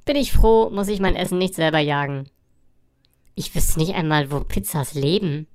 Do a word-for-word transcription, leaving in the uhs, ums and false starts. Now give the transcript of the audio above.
Bin ich froh, muss ich mein Essen nicht selber jagen. Ich wüsste nicht einmal, wo Pizzas leben.